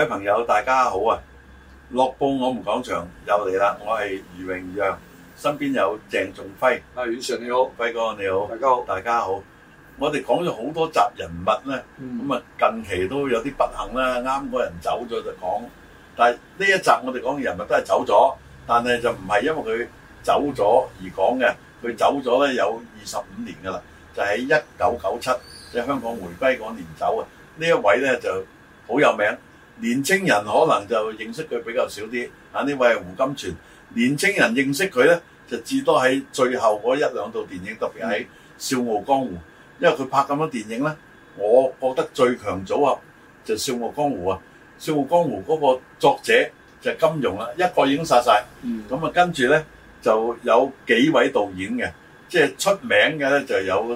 位朋友，大家好啊！樂報我們講場又嚟啦，我係余榮陽，身邊有鄭仲輝。 阮 Sir 你好， 輝哥你好， 大家好， 大家好。我哋講咗好多集人物咧，咁啊近期都有啲不幸啦，啱嗰人走咗就講。但係呢一集我哋講嘅人物都係走咗，但係就唔係因為佢走咗而講嘅，佢走咗咧有25年㗎啦，就喺1997，即係香港回歸嗰年走啊。呢一位咧就好有名，年青人可能就認識佢比較少啲。啊，呢位係胡金銓，年青人認識佢咧就至多喺最後嗰一兩套電影，特別喺《笑傲江湖》，因為佢拍咁多電影咧，我覺得最強組合就《笑傲江湖》啊，《笑傲江湖》嗰個作者就係金庸啦，一個已經殺晒。咁啊跟住咧就有幾位導演嘅，即係出名嘅咧就有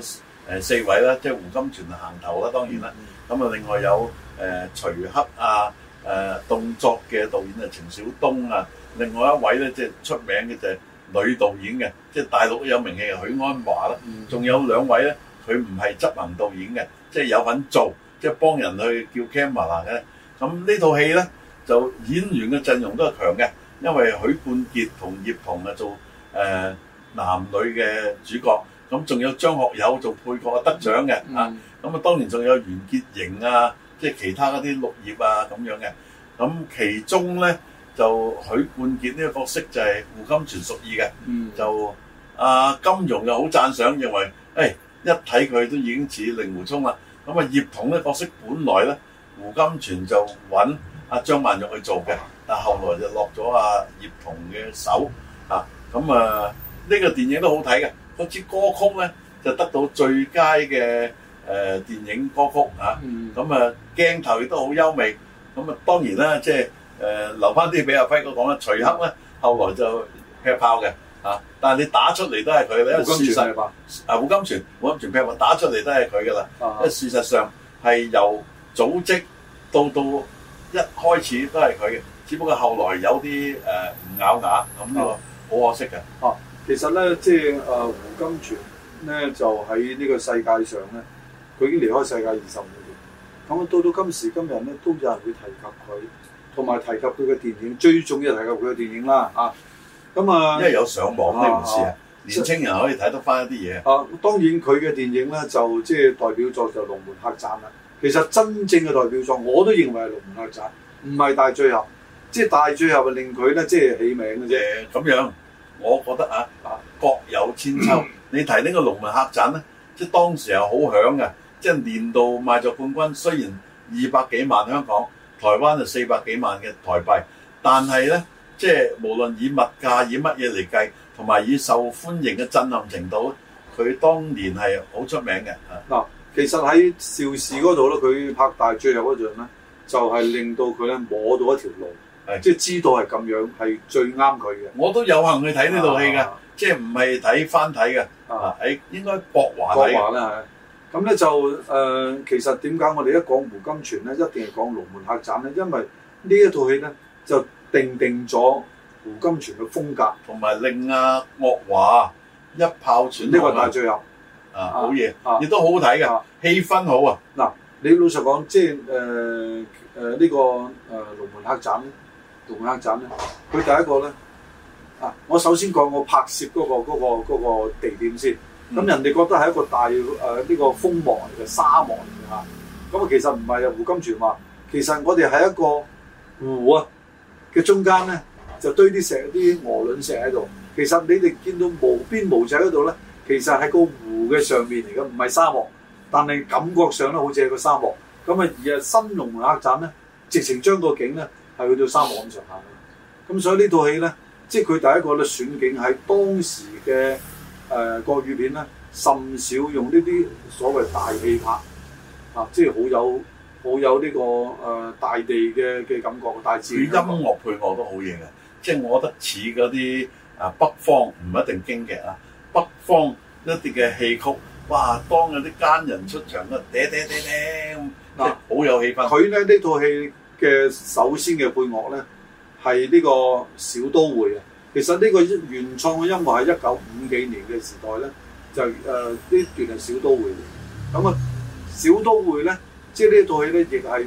4位啦，即係胡金銓行頭啦，當然啦。咁啊，另外有徐克啊，動作嘅導演啊，程小東啊，另外一位咧即係出名嘅就係女導演嘅，即係大陸有名氣嘅許鞍華啦。仲有2位咧，佢唔係執行導演嘅，即係有份做，即係幫人去叫 camera 嘅。咁呢套戲咧就演員嘅陣容都係強嘅，因為許冠傑同葉童啊做男女嘅主角，咁仲有張學友做配角得獎嘅啊。咁啊，當然仲有袁潔瑩啊，即係其他嗰啲綠葉啊咁樣嘅。咁其中咧就許冠傑呢個角色就係胡金銓屬意嘅。就金庸又好讚賞，認為一睇佢都已經似令狐沖啦。咁啊，葉童呢個角色本來咧胡金銓就揾阿張曼玉去做嘅，但後來就落咗阿葉童嘅手啊。咁啊，呢個電影都好睇嘅，嗰支歌曲咧就得到最佳嘅電影歌曲嚇，咁啊鏡頭亦都好優美，咁啊當然啦，即係留翻啲俾阿輝哥講啦。徐克咧後來就劈炮嘅嚇，但係你打出嚟都係佢嘅，因為事實胡金銓劈炮打出嚟都係佢噶啦，因為事實上係由組織到一開始都係佢嘅，只不過後來有啲唔咬牙咁呢個好可惜嘅。 其實咧即係胡金銓咧就喺呢個世界上咧。佢已經離開世界25年，咁到今時今日咧，都有人會提及佢，同埋提及佢嘅電影，最重要係提及佢嘅電影啦嚇。咁啊， 因為有上網呢回事啊，年青人可以睇得翻一啲嘢。 當然佢嘅電影咧就即係代表作就《龍門客棧》啦。其實真正嘅代表作，我都認為係《龍門客棧》，唔係大醉俠。即係大醉俠令佢咧即係起名嘅啫。 咁樣，我覺得各有千秋。你提呢個《龍門客棧》咧，即係當時係好響嘅。即係年度賣座冠軍，雖然200幾萬香港，台灣就400幾萬嘅台幣，但係咧，即係無論以物價以乜嘢嚟計，同埋以受歡迎嘅震撼程度，佢當年係好出名嘅。 嗱，其實喺邵氏嗰度咧，佢拍大醉俠嗰陣咧，就係令到佢咧摸到一條路，即係知道係咁樣係最啱佢嘅。 我都有幸去睇呢套戲嘅，即係唔係睇翻睇嘅，喺應該博華睇啦。咁咧就其實點解我哋一講胡金銓咧，一定係講《龍門客棧》咧？因為呢一套戲咧就定咗胡金銓嘅風格， 同埋令阿岳華一炮傳呢個大醉俠好嘢，亦都好好睇嘅，氣氛好啊！ 嗱，你老實講，即係呢個《龍門客棧》咧，《龍門客棧》咧，佢第一個咧我首先講我拍攝嗰個地點先。咁人哋覺得係一個大呢個風漠嚟嘅沙漠嚟嘅嚇，咁其實唔係啊。胡金銓話，其實我哋喺一個湖嘅中間咧，就堆啲鵝卵石喺度。其實你哋見到無邊無際嗰度咧，其實係個湖嘅上面嚟嘅，唔係沙漠。但係感覺上咧，好似係個沙漠。咁而新龍門客棧咧，直情將個景咧係去到沙漠咁上下嘅。咁所以呢套戲咧，即係佢第一個咧選景喺當時嘅。國語片咧，甚少用呢啲所謂大氣拍即係好有呢個大地嘅感覺，大自然。 佢音樂配樂都好嘢嘅，即係我覺得似嗰啲北方唔一定京劇啊，北方一啲嘅戲曲，哇！當有啲奸人出場咧，嗲即係好有氣氛。 佢咧呢套戲嘅首先嘅配樂咧係呢個小都會啊。其實呢個原創嘅音樂係1950幾年嘅時代咧，就呢段係小都會嚟。咁小都會咧，即係呢套戲咧，亦係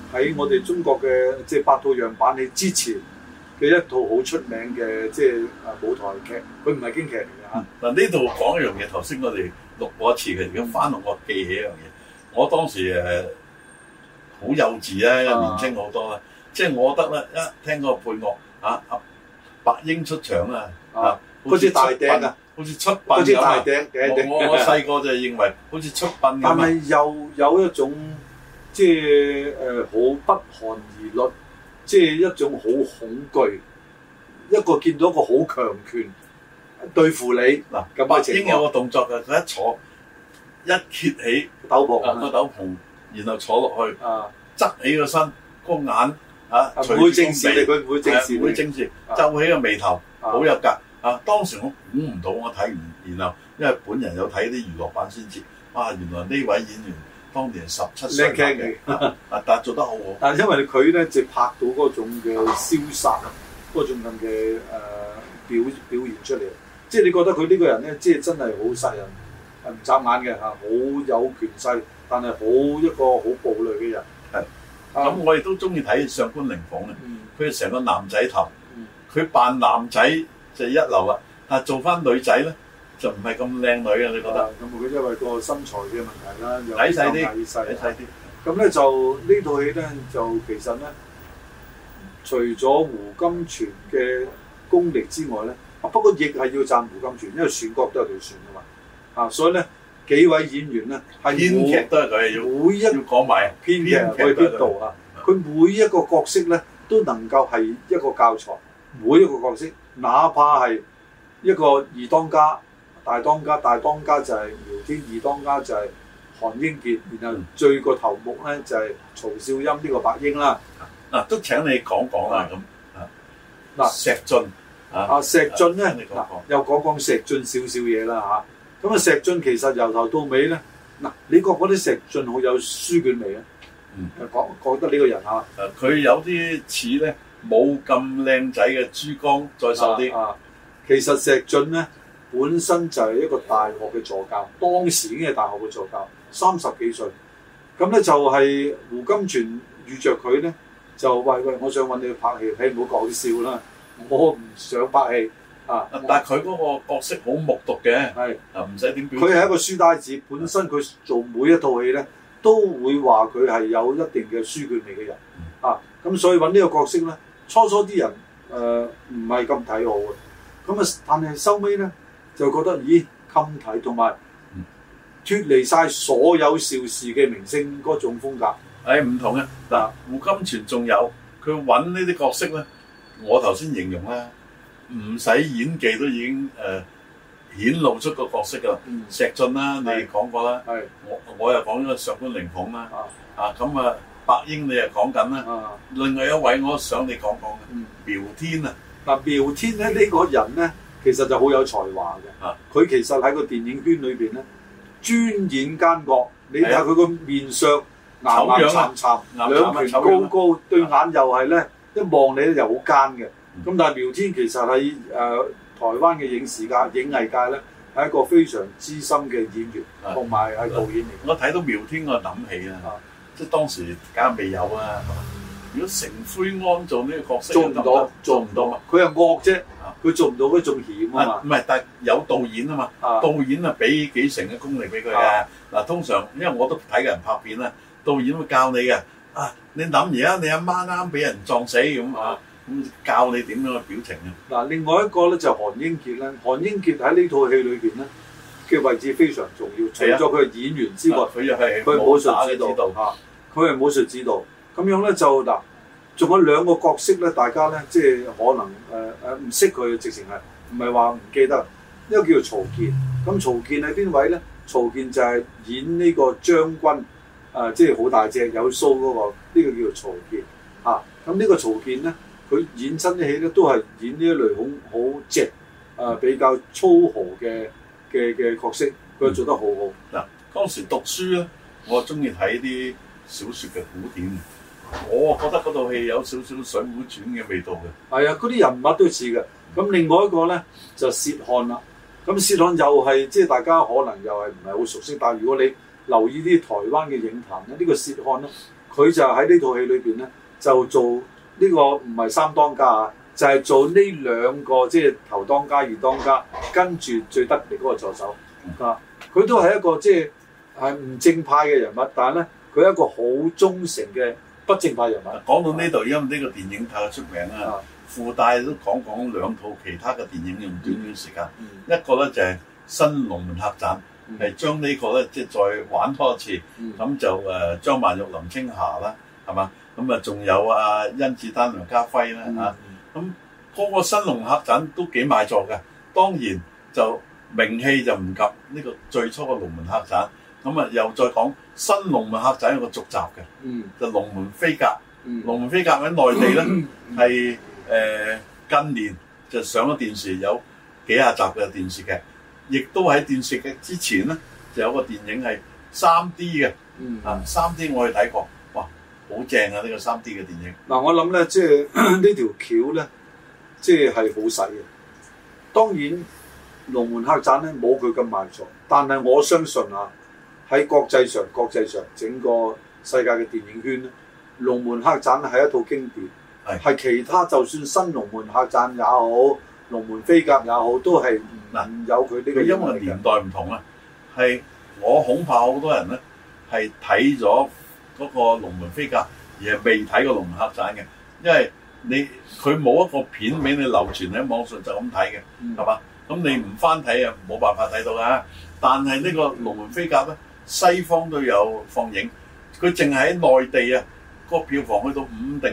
喺我哋中國嘅即係八套樣板戲之前嘅一套好出名嘅即係舞台劇，佢唔係京劇嚟嘅嚇。 嗱呢度講一樣嘢，頭先我哋錄過一次嘅，而家翻落我記起一樣嘢。我當時好幼稚啦，年青好多啦，即係我覺得咧，一聽嗰個配樂阿白英出場啊， 嗰支大笛啊， 好似出殯咁啊！我細個就認為好似出殯咁。但係又有一種即係好不寒而慄，即係一種好恐懼。一個見到一個好強權對付你嗱， 白英有個動作嘅，佢一坐一揭起斗篷個斗篷，然後坐落去，側起個身，個眼唔會正視你，佢唔會正視， 唔會正視，皺起個眉頭，好有格。當時我估唔到，我睇唔，然後因為本人有睇啲娛樂版先知，原來呢位演員當年17歲嘅，但係做得好好。 但係因為佢咧就拍到嗰種嘅瀟灑，嗰種咁嘅表現出嚟，即係你覺得佢呢個人咧，即係真係好殺人唔眨眼嘅嚇，好有權勢，但係好一個好暴戾嘅人。 係，咁我亦都中意睇《上官靈鳳》咧，佢成個男仔頭，佢扮男仔就一流啦，但係做翻女仔咧就唔係咁靚女啊！你覺得？ 咁佢因為個身材嘅問題啦，又矮細啲， 矮細啲。咁咧就呢套戲咧就其實咧，除咗胡金銓嘅功力之外咧，不過亦係要讚胡金銓，因為選角都係佢選噶嘛。所以咧幾位演員咧係編劇都係佢每一要講埋編劇去邊度啊？佢每一個角色咧都能夠係一個教材，每一個角色，哪怕係一個二當家、大當家就係苗天，二當家就係韓英傑，然後最個頭目咧就係曹少陰呢個白英啦。 都請你講講啦咁。石進石進咧又講石進少少嘢啦嚇。咁石進其實由頭到尾咧，你覺得石進好有書卷味啊？覺得呢個人佢有啲似咧冇咁靚仔嘅珠江再瘦啲。 其實石進咧本身就係一個大學嘅助教，當時已經係大學嘅助教，30幾歲。咁咧就係胡金銓遇着佢咧，就喂，我想揾你去拍戲，你唔好講笑啦，我唔想拍戲但係佢嗰個角色好木獨嘅，係唔使點表。 佢係一個書呆子，本身佢做每一套戲咧，都會話佢係有一定嘅書卷味嘅人。咁所以揾呢個角色咧，初啲人唔係咁睇好嘅。咁但係收尾咧就覺得襟睇，同埋脫離晒所有邵氏嘅明星嗰種風格。 唔同嘅胡金銓仲有佢揾呢啲角色咧，我頭先形容啦，唔使演技都已經顯露出個角色㗎啦。石進啦，你講過啦，我又講咗個上官靈鳳啦，咁白英你又講緊啦，另外一位我想你講講嘅苗天啊。 苗天咧呢個人咧，其實就好有才華嘅。佢其實喺個電影圈裏邊咧，專演奸角。你睇下佢個面相，牙慘，兩拳高，對眼又係咧，一望你咧又好奸嘅。咁但係苗天其實喺台灣嘅影藝界咧，係一個非常資深嘅演員，同埋係導演嚟。 我睇到苗天我諗起啊，即係當時梗係未有啊。如果成奎安做呢個角色，做唔到嘛？佢係惡啫，佢做唔到嗰種險啊嘛。唔係，但係有導演啊嘛，導演啊俾幾成嘅功力俾佢嘅。通常因為我都睇嘅人拍片啦，導演會教你嘅。你諗而家你阿媽啱俾人撞死咁咁教你點樣嘅表情啊。 另外一個咧就韓英傑咧，韓英傑喺呢套戲裏邊咧嘅位置非常重要。除咗佢係演員之外， 佢又係武術指導，佢係武術指導。咁樣咧就仲有兩個角色咧，大家咧即係可能唔識佢，直情係唔係話唔記得。一個叫做曹健，咁曹健係邊位咧？曹健就係演呢個將軍，即係好大隻有鬚嗰個，呢個叫做曹健。咁呢個曹健咧，佢演親啲戲咧都係演呢一類好直比較粗豪嘅角色，佢做得好好。 當時讀書咧，我中意睇啲小説嘅古典。我覺得嗰套戲有少少《水滸傳》嘅味道嘅。係嗰啲人物都似嘅。咁另外一個咧就薛漢啦。咁薛漢又係即係大家可能又係唔係好熟悉，但係如果你留意啲台灣嘅影壇咧，呢個薛漢咧佢就喺呢套戲裏邊咧，就做呢個唔係三當家啊，就係做呢兩個即係頭當家、二當家，跟住最得力嗰個助手啊。佢都係一個即係唔正派嘅人物，但係咧佢係一個好忠誠嘅不正派人物。講到呢度，因為呢個電影太出名啦，附帶都講兩套其他嘅電影用短短時間。一個咧就係《新龍門客棧》，係將呢個咧即係再玩多一次。咁就張曼玉、林青霞啦，係嘛？咁啊仲有甄子丹、梁家輝啦嚇。咁嗰個《新龍門客棧》都幾賣座嘅，當然就名氣就唔及呢個最初嘅《龍門客棧》。咁又再講《新龍門客棧》有個續集嘅，就《龍門飛甲》。《龍門飛甲》喺內地咧係近年就上咗電視，有幾廿集嘅電視劇，亦都喺電視劇之前咧就有個電影係 3D 嘅，3D 我去睇過，哇，好正啊！呢個 3D 嘅電影。嗱，我諗咧，即係呢條橋咧，即係好細嘅。當然，《龍門客棧》咧冇佢咁賣座，但係我相信喺國際上整個世界嘅電影圈咧，《龍門客棧》係一套經典。係其他就算新龍門客棧也好，龍門飛甲也好，都係唔有佢呢個。因為年代唔同啊，係我恐怕好多人咧係睇咗嗰個龍門飛甲，而係未睇過龍門客棧嘅，因為佢冇一個片俾你流傳喺網上就咁睇嘅，係嘛？咁你唔翻睇啊，冇辦法睇到㗎。但係呢個龍門飛甲咧，西方都有放映，佢淨係喺內地啊，個票房去到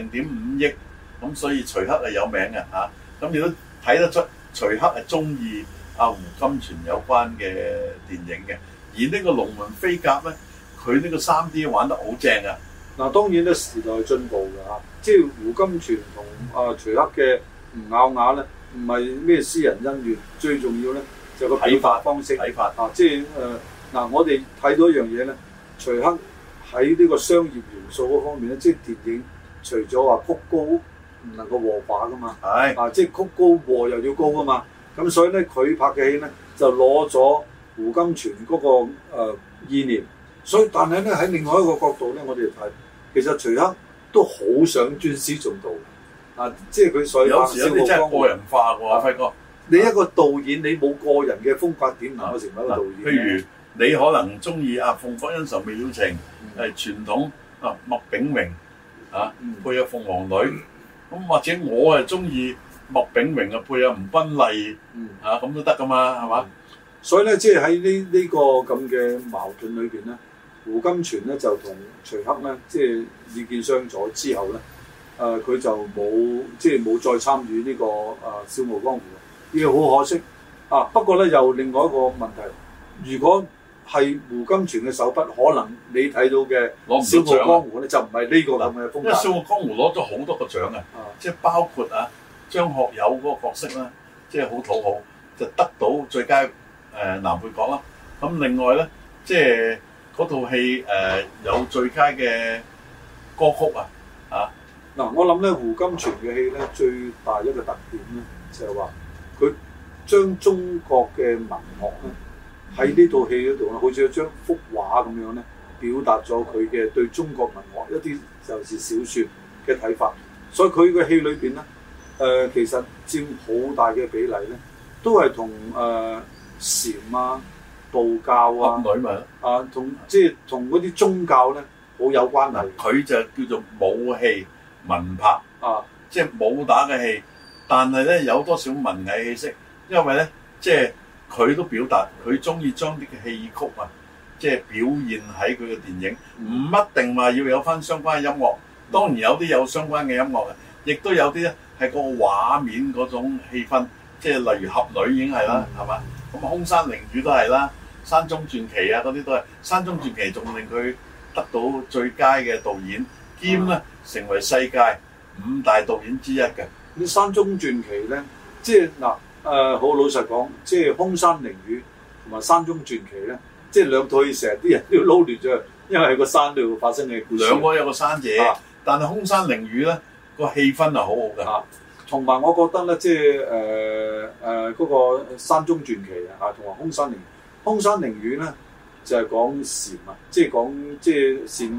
5.5億。咁所以徐克係有名嘅嚇，咁亦都睇得出徐克係中意胡金銓有關嘅電影嘅。而呢個龍門飛甲咧，佢呢個 3D 玩得好正啊！嗱，當然咧時代進步㗎嚇，即係胡金銓同徐克嘅唔咬牙咧，唔係咩私人恩怨，最重要咧就個睇法方式睇法啊，即係我哋睇到一樣嘢咧，徐克喺呢個商業元素嗰方面咧，即係電影除咗話曲高唔能夠和畫噶嘛，即係曲高和又要高噶嘛，咁所以咧佢拍嘅戲咧就攞咗胡金銓嗰個意念，所以但係咧喺另外一個角度咧，我哋睇其實徐克都好想尊師重道，即係佢所以有時有啲真係個人化喎，輝哥。你一個導演你冇個人嘅風格點能夠成為一個導演？譬如你可能中意鳳閣恩仇未了情，係傳統麥炳榮配有鳳凰女。咁或者我係中意麥炳榮嘅配阿吳君麗，咁都得噶嘛，係嘛？所以咧，即係喺呢個咁嘅矛盾裏邊咧，胡金銓咧就同徐克咧，即係意見相左之後咧，佢就冇再參與呢個笑傲江湖，呢個好可惜不過咧，又另外一個問題，如果係胡金銓嘅手筆，可能你睇到嘅《笑傲江湖》咧就唔係呢個咁嘅風格。因為《笑傲江湖》攞咗好多個獎即係包括張學友嗰個角色啦，即係好討好，就得到最佳男配角啦。咁另外咧，即係嗰套戲有最佳嘅歌曲嗱，我諗咧胡金銓嘅戲咧最大一個特點咧就係話佢將中國嘅文學咧。喺呢套戲嗰度咧，好似一張幅畫咁樣咧，表達咗佢嘅對中國文學一啲就是小説嘅睇法。所以佢嘅戲裏邊咧，其實佔好大嘅比例咧，都係同禪道教同嗰啲宗教咧好有關係。佢就叫做武戲文拍即係武打嘅戲，但係咧有多少文藝氣息，因為咧即係。佢都表達佢中意將啲嘅戲曲即係表現喺佢嘅電影，唔一定話要有翻相關嘅音樂。當然有啲有相關嘅音樂嘅，亦都有啲咧係個畫面嗰種氣氛，即係例如俠女已經係啦，係嘛？咁空山靈雨都係啦，山中傳奇嗰啲都係。山中傳奇仲令佢得到最佳嘅導演，兼咧成為世界5大導演之一嘅。咁山中傳奇咧，即係嗱。好老實講，即係《空山靈雨》同埋《山中傳奇》咧，即係兩套戲成日啲人都撈亂咗，因為喺個山度發生嘅故事。兩個有個山姐，但係《空山靈雨》咧個氣氛係好好嘅。同埋我覺得咧，即係嗰個《山中傳奇》同埋《空山靈雨》。《空山靈雨》咧就係講禪即係講即係善惡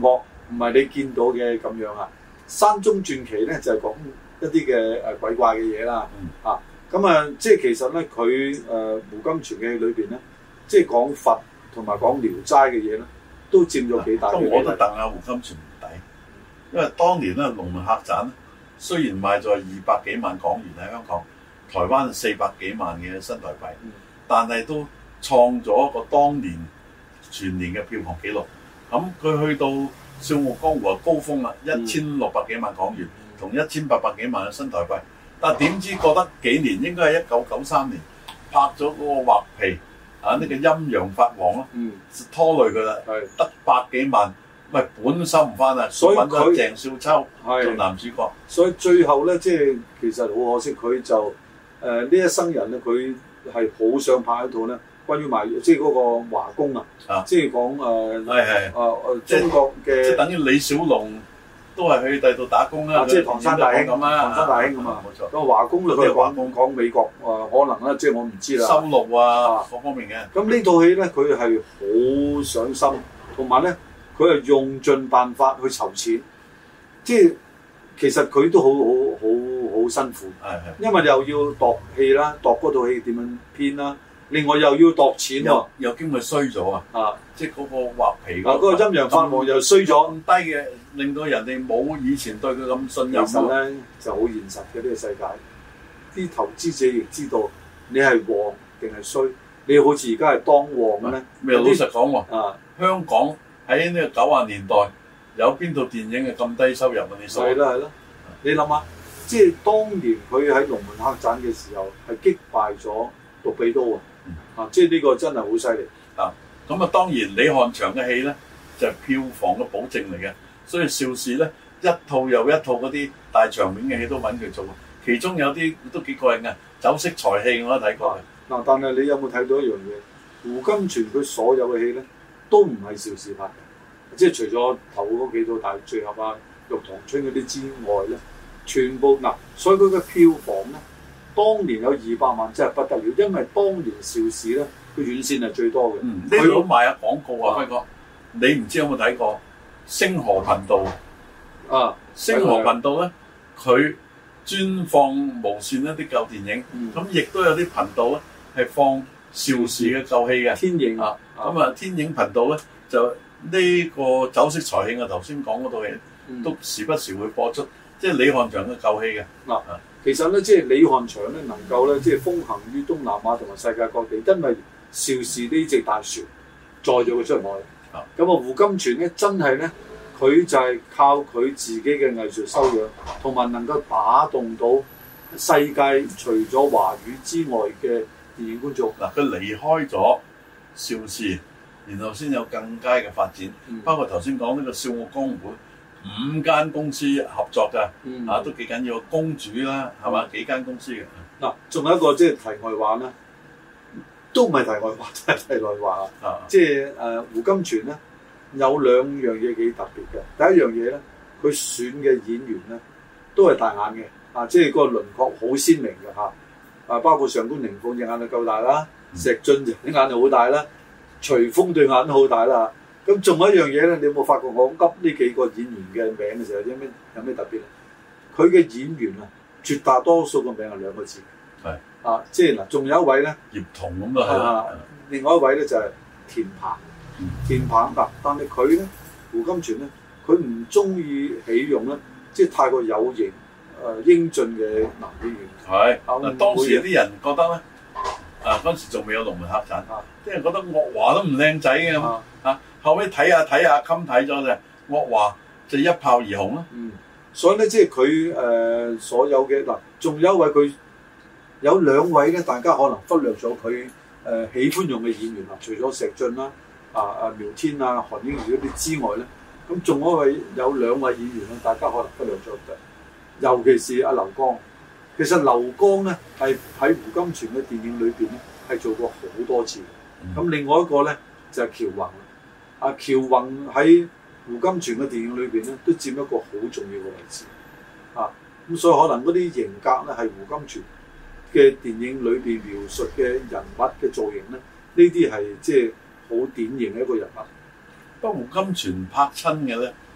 唔係你見到嘅咁樣啊。山中傳奇咧就係講一啲嘅鬼怪嘅嘢啦。咁啊，即係其實咧佢胡金銓嘅戲裏邊咧，即係講佛同埋講聊齋嘅嘢咧，都佔咗幾大嘅比例。 我都戥阿胡金銓唔抵，因為當年咧《龍門客棧》雖然賣咗200幾萬港元喺香港，台灣400幾萬嘅新台幣，但係都創咗一個當年全年嘅票房紀錄。咁佢去到《笑傲江湖》高峰啦，1600幾萬港元，同1800幾萬嘅新台幣。但係點知過得幾年，應該係1993年拍咗嗰個畫皮啊，呢個陰陽法王咯，拖累佢啦，得百幾萬，喂，本收唔翻啊，所以揾咗鄭少秋做男主角。 所以最後咧，即係其實好可惜，佢就呢一生人咧，佢係好想拍一套咧，關於賣即係嗰個華工啊，即係講中國嘅， 即係等於李小龍。都係去第度打工啦， 即係唐山大兄咁啊，唐山大兄咁啊，冇錯。咁華工咧，佢講美國可能啦，即係我唔知啦。 收錄啊，各方面嘅。 咁呢套戲咧，佢係好上心，同埋咧，佢係用盡辦法去籌錢，即係其實佢都好辛苦。係。因為又要度戲啦，度嗰套戲點樣編啦，另外又要度錢喎， 又驚佢衰咗啊！即係嗰個畫皮嗰個陰陽法王又衰咗， 咁低嘅。令到人哋冇以前對佢咁信任。 其實咧就好現實嘅呢個世界，啲投資者亦知道你係旺定係衰。你好似而家係當旺嘅咧。 咪老實講喎，香港喺呢個90年代有邊套電影係咁低收入啊？你數？係啦， 你諗下，即係當年佢喺龍門客棧嘅時候係擊敗咗杜比刀即係呢個真係好犀利咁啊，當然李翰祥嘅戲咧就係票房嘅保證嚟嘅。所以邵氏咧一套又一套嗰啲大場面嘅戲都揾佢做，其中有啲都幾過癮嘅，酒色財氣我都睇過。 嗱，但係你有冇睇到一樣嘢？胡金銓佢所有嘅戲咧都唔係邵氏拍嘅，即係除咗頭嗰幾套大聚合啊、玉堂春嗰啲之外咧，全部所以佢嘅票房咧，當年有200萬真係不得了，因為當年邵氏咧佢院線係最多嘅。 呢度賣下廣告啊，輝哥，你唔知有冇睇過？星河頻道星河頻道咧，佢專放無線一啲舊電影，咁亦都有啲頻道咧係放邵氏嘅舊戲嘅。 天影天影頻道咧就呢個酒色財氣，我頭先講嗰套戲都時不時會播出，即係李翰祥嘅舊戲嘅。 其實咧，即係李翰祥咧能夠咧，即係風行於東南亞同埋世界各地，因為邵氏呢隻大船載咗佢出外。咁胡金銓咧真係咧，佢就係靠佢自己嘅藝術修養，同埋能夠打動到世界除咗華語之外嘅電影觀眾。 佢離開咗邵氏，然後先有更佳嘅發展。包括頭先講呢個《笑傲江湖》5間公司合作㗎，都幾緊要。公主啦，係嘛？幾間公司嘅。 仲有一個即係題外話啦。都唔係題外話，真係題外話即係胡金銓咧有2樣嘢幾特別嘅。第一樣嘢咧，佢選嘅演員咧都係大眼嘅，即係個輪廓好鮮明嘅包括上官靈鳳隻眼就夠大啦，石進隻眼就好大啦，徐楓對眼都好大啦。咁仲有一樣嘢咧，你有冇發覺我噏呢幾個演員嘅名嘅時候有咩特別咧？佢嘅演員絕大多數個名係2個字。即係仲有一位咧， 葉童咁啊， 另外一位咧就係田鵬，田鵬但係佢咧，胡金銓咧，佢唔中意起用咧，即係太過有型英俊嘅男演員。 當時有啲人覺得咧，嗰陣時仲未有龍門客棧，啲人覺得岳華都唔靚仔嘅咁後尾睇下襟睇咗就岳華就一炮而紅啦。 所以咧，即係佢所有嘅仲有一位佢。有2位咧，大家可能忽略咗佢喜歡用嘅演員除咗石進啦、苗天啊、韓英瑜嗰啲之外咧，咁仲有2位演員大家可能忽略咗嘅，尤其是阿劉江。其實劉江咧係喺胡金銓嘅電影裏邊咧係做過好多次嘅。咁另外一個咧就係喬宏。喬宏喺胡金銓嘅電影裏邊咧都佔一個好重要嘅位置。咁所以可能嗰啲型格咧係胡金銓嘅電影裏邊描述嘅人物嘅造型咧，呢啲係即係好典型嘅一個人物。 不過胡金銓拍親嘅咧，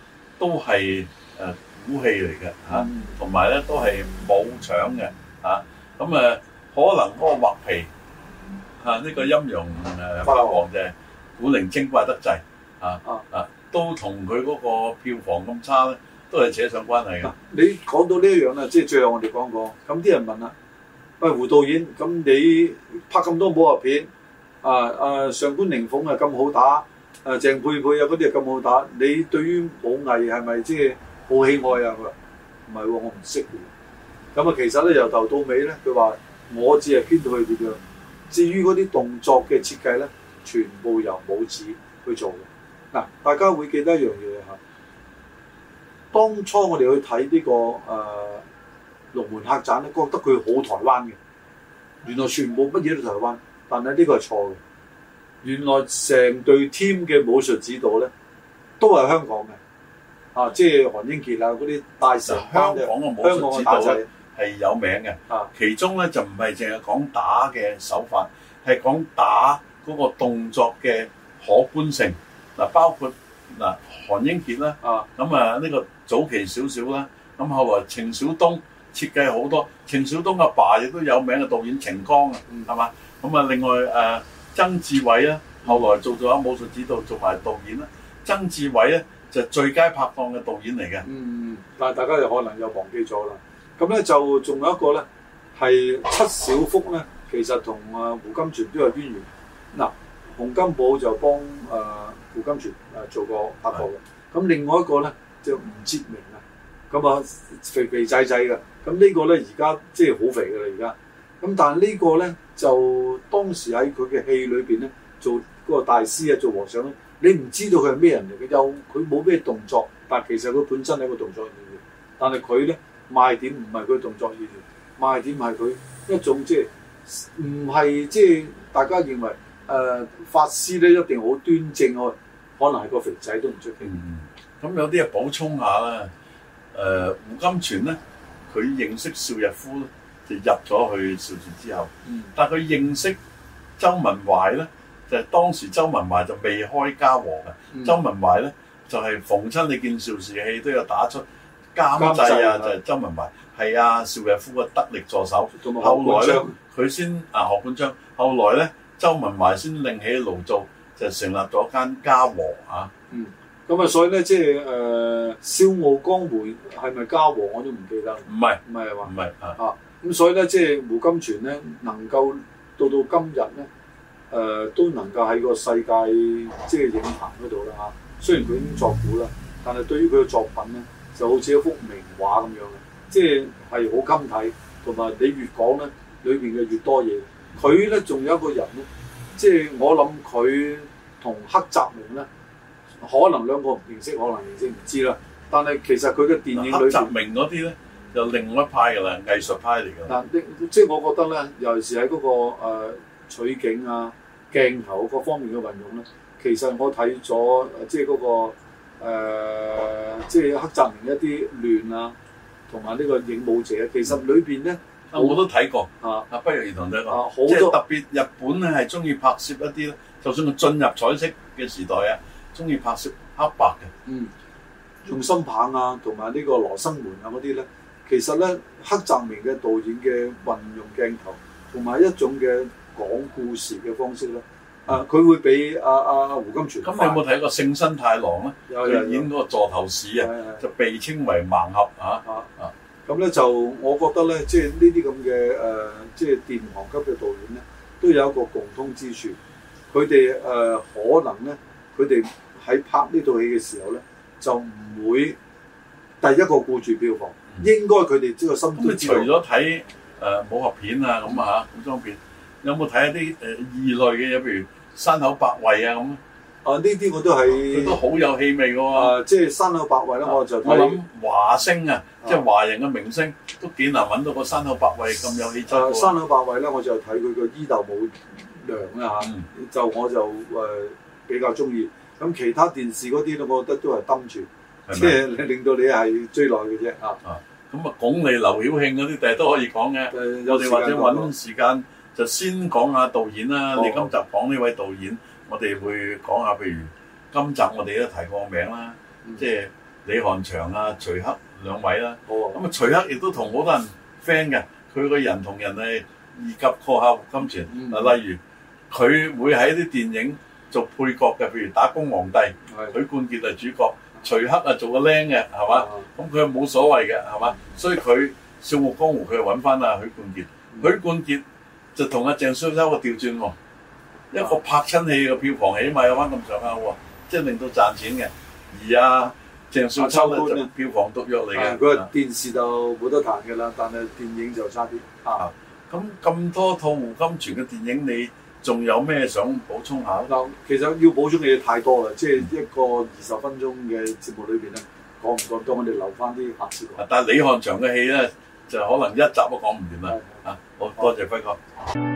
都係古戲嚟嘅嚇，同埋咧都係冇搶嘅嚇。咁可能嗰個畫皮呢個陰陽法王就係古靈精怪得滯都同佢嗰個票房咁差咧，都係扯上關係嘅。 你講到呢一樣啦，即係最後我哋講過，咁啲人問啦，喂，胡導演，咁你拍咁多武俠片，上官靈鳳咁好打，鄭佩佩嗰啲咁好打，你對於武藝係咪即係好喜愛啊？佢話唔係喎，我唔識嘅。咁其實咧由頭到尾咧，佢話我只係編到佢點樣，至於嗰啲動作嘅設計咧，全部由武指去做嘅。嗱，大家會記得一樣嘢嚇。當初我哋去睇呢個龍門客棧咧，覺得佢好台灣嘅，原來全部乜嘢都台灣，但係呢個係錯嘅。原來成隊 team 嘅武術指導咧，都係香港嘅，即係韓英傑嗰啲大成班嘅香港嘅武術指導咧係有名嘅。其中咧就唔係淨係講打嘅手法，係講打嗰個動作嘅可觀性。嗱，包括韓英傑啦，呢個早期少少啦，咁後來程小東設計好多，程小東阿爸亦都有名嘅導演程剛啊，係嘛？咁另外曾志偉啦，後來做咗武術指導，做埋導演啦。曾志偉咧就最佳拍檔嘅導演嚟嘅。 但係大家又可能又忘記咗啦。咁咧就仲有一個咧係七小福咧，其實同胡金銓都有淵源。嗱，洪金寶就幫胡金銓做過拍過嘅。咁另外一個咧就吳哲明啊，咁肥肥仔仔嘅。咁呢個咧而家即係好肥嘅啦而家。咁但係呢個咧就當時喺佢嘅戲裏邊咧做嗰個大師做和尚咧，你唔知道佢係咩人嚟嘅，又佢冇咩動作，但其實佢本身係一個動作演員。但係佢咧賣點唔係佢動作演員，賣點係佢一種即係唔係即係大家認為法師咧一定好端正，可能係個肥仔都唔出奇。 咁有啲嘢補充下啦。胡金銓咧，佢認識邵逸夫咧，就入咗去邵氏之後。但係佢認識周文懷咧，就係當時周文懷就未開嘉禾嘅。周文懷咧就係逢親你見邵氏戲都有打出監製啊，就係周文懷係邵逸夫嘅得力助手。後來咧佢先何冠章，後來咧周文懷先另起爐灶，就成立咗間嘉禾啊。 咁所以咧即係笑傲江湖係咪嘉禾我都唔記得。唔係係嘛？唔係咁所以咧即係胡金銓咧能夠到今日咧都能夠喺個世界即係影壇嗰度啦嚇。雖然佢已經作古啦，但係對於佢嘅作品咧就好似一幅名畫咁樣嘅，即係好襟睇，同埋你越講咧裏邊嘅越多嘢。佢咧仲有一個人咧，即係我諗佢同黑澤明咧。可能兩個唔認識，可能認識唔知啦。但係其實佢嘅電影裏邊，黑澤明嗰啲咧就另外一派㗎啦，藝術派嚟㗎。但即係我覺得咧，尤其是喺嗰個取景鏡頭各方面嘅運用咧，其實我睇咗即係嗰個即係黑澤明一啲亂同埋呢個影武者，其實裏邊咧我都睇過不約而同睇過，即係特別日本咧係中意拍攝一啲咧，就算佢進入彩色嘅時代中意拍攝黑白嘅，用心棒同埋呢個羅生門嗰啲咧，其實咧黑澤明嘅導演嘅運用鏡頭同埋一種嘅講故事嘅方式咧，佢會比胡金銓。咁你有冇睇過《勝新太郎》咧？有演嗰個座頭市就被稱為盲俠咁咧就我覺得咧，即係呢啲咁嘅即係殿堂級嘅導演咧，都有一個共通之處，佢哋可能咧。佢哋喺拍呢套戲嘅時候咧，就唔會第一個顧住票房，應該佢哋呢個心都知道。除咗睇武俠片咁古裝片，有冇睇一啲異類嘅嘢，譬如山口百惠咁？呢啲我都係佢都好有氣味嘅喎。即係山口百惠咧，我諗華星即係華人嘅明星都幾難揾到個山口百惠咁有氣質。山口百惠咧，我就睇佢個伊豆舞娘啦就我就比較中意，咁其他電視嗰啲咧，我覺得都係瞪住，即係令到你係追耐嘅啫咁鞏俐、劉曉慶嗰啲，第日都可以講嘅。我哋或者揾時間就先講下導演啦。你今集講呢位導演，我哋會講下，譬如今集我哋都提過個名啦，即係李翰祥啊、徐克兩位啦。 咁啊，徐克亦都同好多人 friend 嘅，佢個人同人係二級過客戶金錢。例如佢會喺啲電影做配角嘅，譬如《打工皇帝》，許冠傑係主角，徐克啊做個僆嘅，係嘛？咁佢冇所謂嘅，係嘛？所以佢《笑傲江湖》佢又揾翻阿許冠傑，許冠傑就同阿鄭少秋個調轉喎，一個拍親戲嘅票房起碼有翻咁上下喎，即係令到賺錢嘅。而阿鄭少秋咧就票房毒藥嚟嘅。 佢電視就冇得彈嘅啦，但係電影就差啲。 咁多套胡金銓嘅電影，你仲有咩想補充下？ 嗱，其實要補充嘅嘢太多啦，即係一個20分鐘嘅節目裏邊咧，講唔講多，我哋留翻啲下次講。 但係李翰祥嘅戲咧，就可能一集都講唔完啦。好多謝輝哥。